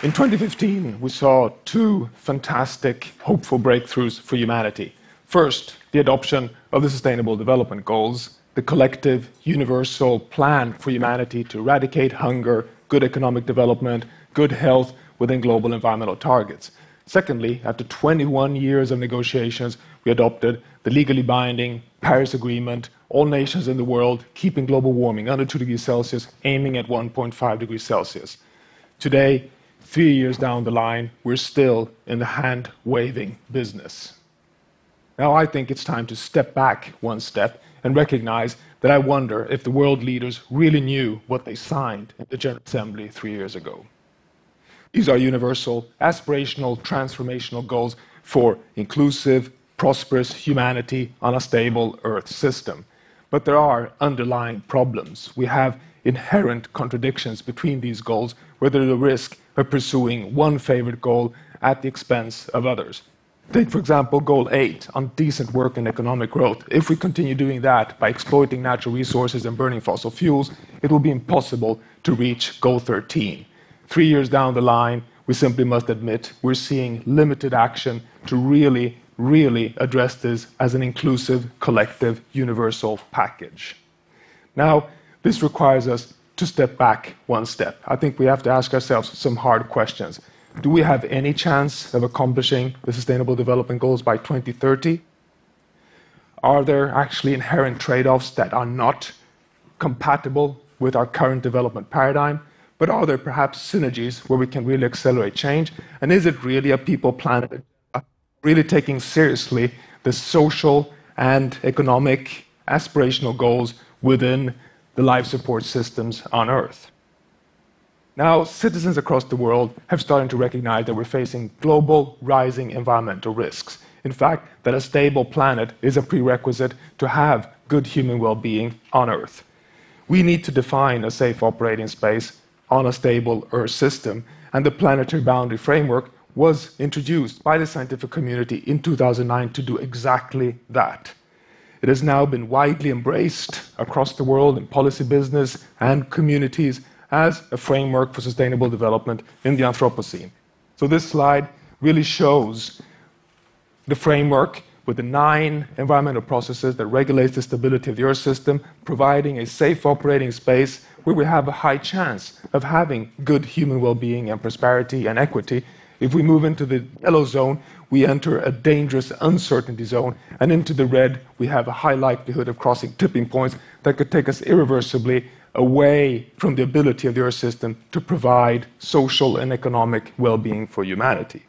In 2015, we saw two fantastic, hopeful breakthroughs for humanity. First, the adoption of the Sustainable Development Goals, the collective, universal plan for humanity to eradicate hunger, good economic development, good health within global environmental targets. Secondly, after 21 years of negotiations, we adopted the legally binding Paris Agreement, all nations in the world keeping global warming under 2 degrees Celsius, aiming at 1.5 degrees Celsius. Today, 3 years down the line, we're still in the hand-waving business. Now I think it's time to step back one step and recognize that I wonder if the world leaders really knew what they signed in the General Assembly 3 years ago. These are universal, aspirational, transformational goals for inclusive, prosperous humanity on a stable Earth system. But there are underlying problems. We have inherent contradictions between these goals, where there's a risk of pursuing one favorite goal at the expense of others. Take, for example, Goal 8 on decent work and economic growth. If we continue doing that by exploiting natural resources and burning fossil fuels, it will be impossible to reach Goal 13. 3 years down the line, we simply must admit we're seeing limited action to really address this as an inclusive, collective, universal package. Now, this requires us to step back one step. I think we have to ask ourselves some hard questions. Do we have any chance of accomplishing the Sustainable Development Goals by 2030? Are there actually inherent trade-offs that are not compatible with our current development paradigm? But are there perhaps synergies where we can really accelerate change? And is it really a people-planet, really taking seriously the social and economic aspirational goals within the life support systems on Earth? Now, citizens across the world have started to recognize that we're facing global rising environmental risks. In fact, that a stable planet is a prerequisite to have good human well-being on Earth. We need to define a safe operating space on a stable Earth system, and the Planetary Boundary Framework was introduced by the scientific community in 2009 to do exactly that. It has now been widely embraced across the world in policy, business, and communities as a framework for sustainable development in the Anthropocene. So this slide really shows the framework with the 9 environmental processes that regulate the stability of the Earth system, providing a safe operating space where we have a high chance of having good human well-being and prosperity and equity. If we move into the yellow zone, we enter a dangerous uncertainty zone, and into the red, we have a high likelihood of crossing tipping points that could take us irreversibly away from the ability of the Earth system to provide social and economic well-being for humanity.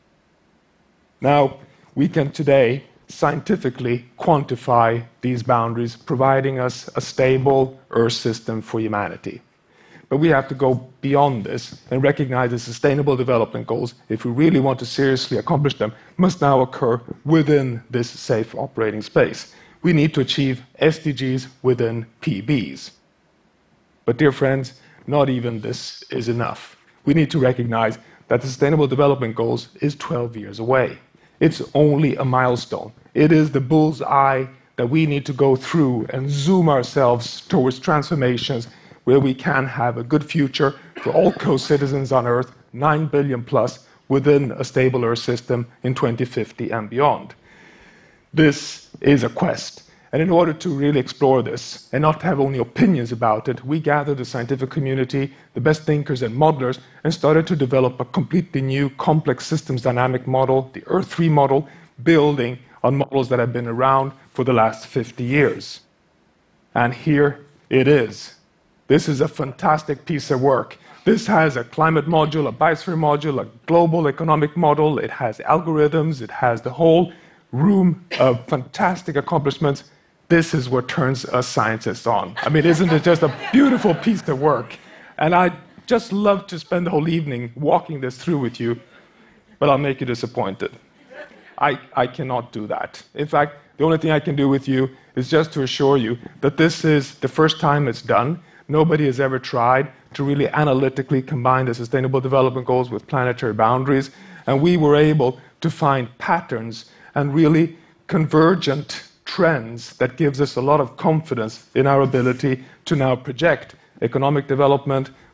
Now, we can today scientifically quantify these boundaries, providing us a stable Earth system for humanity. But we have to go beyond this and recognize the Sustainable Development Goals, if we really want to seriously accomplish them, must now occur within this safe operating space. We need to achieve SDGs within PBs. But dear friends, not even this is enough. We need to recognize that the Sustainable Development Goals is 12 years away. It's only a milestone. It is the bull's eye that we need to go through and zoom ourselves towards transformations where we can have a good future for all co-citizens on Earth, 9 billion plus, within a stable Earth system in 2050 and beyond. This is a quest. And in order to really explore this and not have only opinions about it, we gathered the scientific community, the best thinkers and modelers, and started to develop a completely new complex systems dynamic model, the Earth-3 model, building on models that have been around for the last 50 years. And here it is. This is a fantastic piece of work. This has a climate module, a biosphere module, a global economic model. It has algorithms. It has the whole room of fantastic accomplishments. This is what turns us scientists on. I mean, isn't it just a beautiful piece of work? And I'd just love to spend the whole evening walking this through with you, but I'll make you disappointed. I cannot do that. In fact, the only thing I can do with you is just to assure you that this is the first time it's done. Nobody has ever tried to really analytically combine the Sustainable Development Goals with planetary boundaries, and we were able to find patterns and really convergent trends that gives us a lot of confidence in our ability to now project economic development,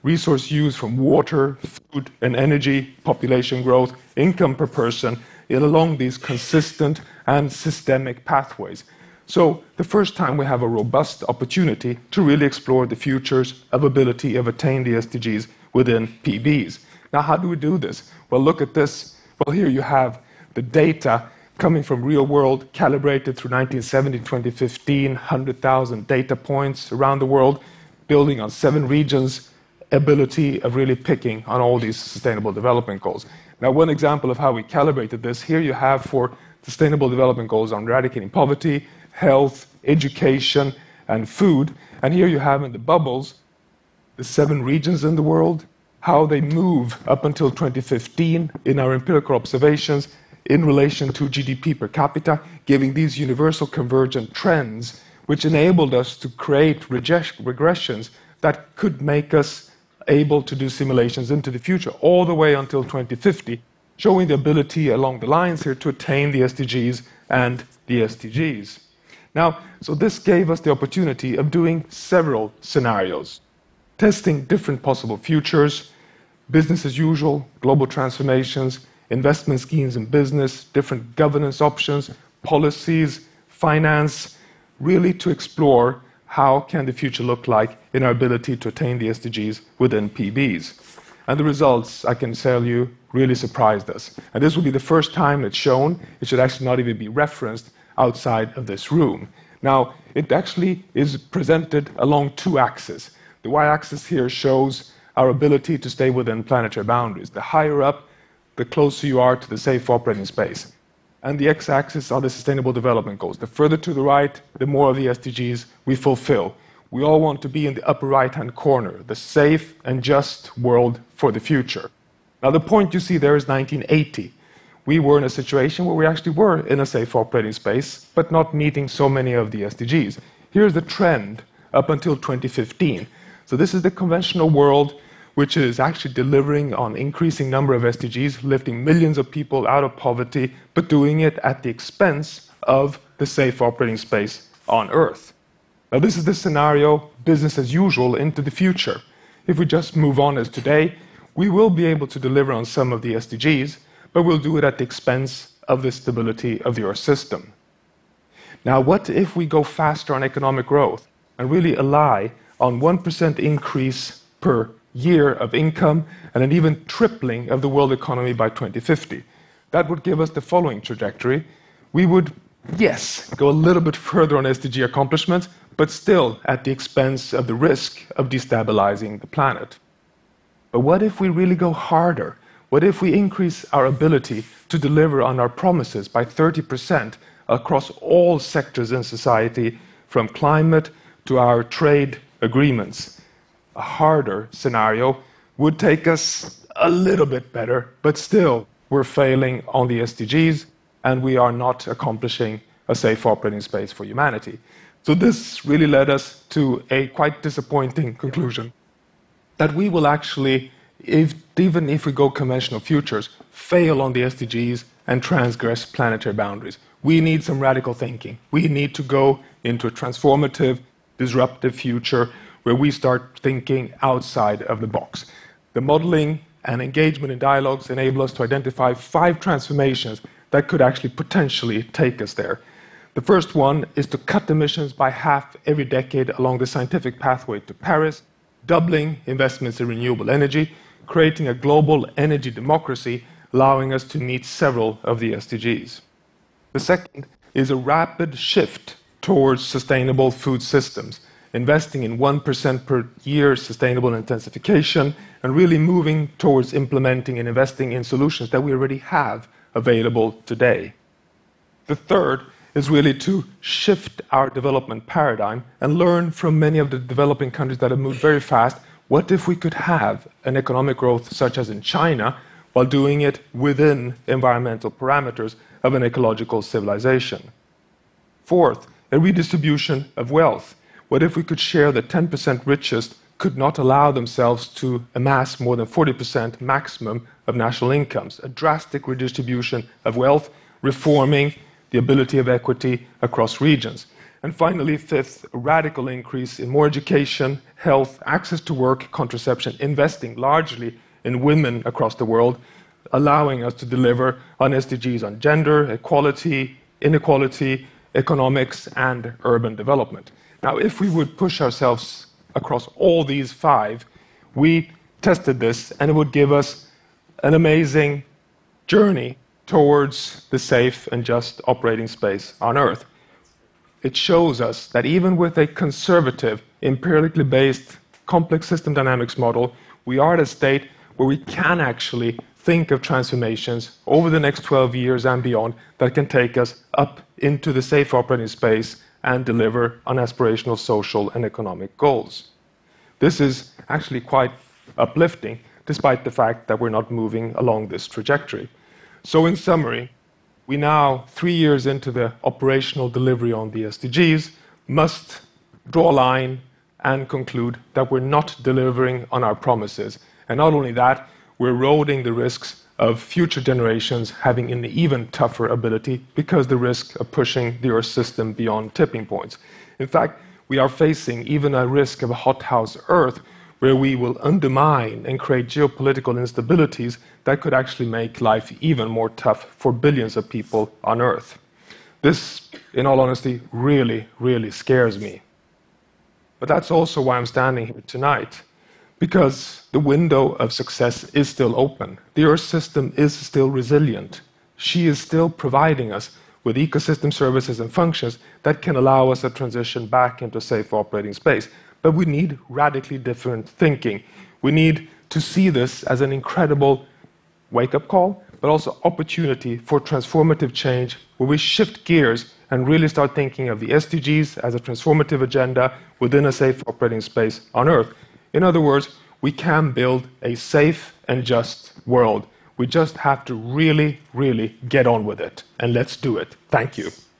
resource use from water, food, and energy, population growth, income per person, along these consistent and systemic pathways. So the first time we have a robust opportunity to really explore the futures of ability of attain the SDGs within PBs. Now, how do we do this? Well, look at this. Well, here you have the data coming from real world, calibrated through 1970, 2015, 100,000 data points around the world, building on 7 regions, ability of really picking on all these sustainable development goals. Now, one example of how we calibrated this, here you have for sustainable development goals on eradicating poverty, health, education, and food. And here you have in the bubbles the 7 regions in the world, how they move up until 2015 in our empirical observations in relation to GDP per capita, giving these universal convergent trends, which enabled us to create regressions that could make us able to do simulations into the future, all the way until 2050, showing the ability along the lines here to attain the SDGs and the SDGs. Now, so this gave us the opportunity of doing several scenarios, testing different possible futures, business as usual, global transformations, investment schemes in business, different governance options, policies, finance, really to explore how can the future look like in our ability to attain the SDGs within PBs. And the results, I can tell you, really surprised us. And this will be the first time it's shown. It should actually not even be referenced outside of this room. Now, it actually is presented along 2 axes. The y-axis here shows our ability to stay within planetary boundaries. The higher up, the closer you are to the safe operating space. And the x-axis are the Sustainable Development Goals. The further to the right, the more of the SDGs we fulfill. We all want to be in the upper right-hand corner, the safe and just world for the future. Now, the point you see there is 1980. We were in a situation where we actually were in a safe operating space, but not meeting so many of the SDGs. Here's the trend up until 2015. So this is the conventional world, which is actually delivering on increasing number of SDGs, lifting millions of people out of poverty, but doing it at the expense of the safe operating space on Earth. Now, this is the scenario, business as usual, into the future. If we just move on as today, we will be able to deliver on some of the SDGs, but we'll do it at the expense of the stability of the Earth system. Now, what if we go faster on economic growth and really rely on 1% increase per year of income and an even tripling of the world economy by 2050? That would give us the following trajectory. We would, yes, go a little bit further on SDG accomplishments, but still at the expense of the risk of destabilizing the planet. But what if we really go harder? What if we increase our ability to deliver on our promises by 30% across all sectors in society, from climate to our trade agreements? A harder scenario would take us a little bit better, but still we're failing on the SDGs and we are not accomplishing a safe operating space for humanity. So this really led us to a quite disappointing conclusion that we will actually, even if we go conventional futures, fail on the SDGs and transgress planetary boundaries. We need some radical thinking. We need to go into a transformative, disruptive future where we start thinking outside of the box. The modeling and engagement in dialogues enable us to identify 5 transformations that could actually potentially take us there. The first one is to cut emissions by half every decade along the scientific pathway to Paris, doubling investments in renewable energy, creating a global energy democracy, allowing us to meet several of the SDGs. The second is a rapid shift towards sustainable food systems, investing in 1% per year sustainable intensification, and really moving towards implementing and investing in solutions that we already have available today. The third is really to shift our development paradigm and learn from many of the developing countries that have moved very fast. What if we could have an economic growth such as in China while doing it within environmental parameters of an ecological civilization? Fourth, a redistribution of wealth. What if we could share the 10% richest could not allow themselves to amass more than 40% maximum of national incomes? A drastic redistribution of wealth, reforming the ability of equity across regions. And finally, fifth, a radical increase in more education, health, access to work, contraception, investing largely in women across the world, allowing us to deliver on SDGs on gender, equality, inequality, economics, and urban development. Now, if we would push ourselves across all these five, we tested this, and it would give us an amazing journey towards the safe and just operating space on Earth. It shows us that even with a conservative, empirically based, complex system dynamics model, we are at a state where we can actually think of transformations over the next 12 years and beyond that can take us up into the safe operating space and deliver on aspirational social and economic goals. This is actually quite uplifting, despite the fact that we're not moving along this trajectory. So in summary, we now, 3 years into the operational delivery on the SDGs, must draw a line and conclude that we're not delivering on our promises. And not only that, we're eroding the risks of future generations having an even tougher ability because the risk of pushing the Earth system beyond tipping points. In fact, we are facing even a risk of a hothouse Earth where we will undermine and create geopolitical instabilities that could actually make life even more tough for billions of people on Earth. This, in all honesty, really, really scares me. But that's also why I'm standing here tonight, because the window of success is still open. The Earth system is still resilient. She is still providing us with ecosystem services and functions that can allow us a transition back into safe operating space. But we need radically different thinking. We need to see this as an incredible wake-up call, but also opportunity for transformative change, where we shift gears and really start thinking of the SDGs as a transformative agenda within a safe operating space on Earth. In other words, we can build a safe and just world. We just have to really, really get on with it. And let's do it. Thank you.